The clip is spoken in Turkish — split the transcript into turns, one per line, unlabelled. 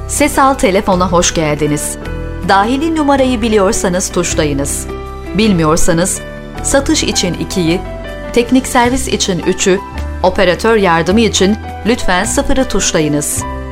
Sesal telefona hoş geldiniz. Dahili numarayı biliyorsanız tuşlayınız. Bilmiyorsanız satış için 2'yi, teknik servis için 3'ü, operatör yardımı için lütfen 0'ı tuşlayınız.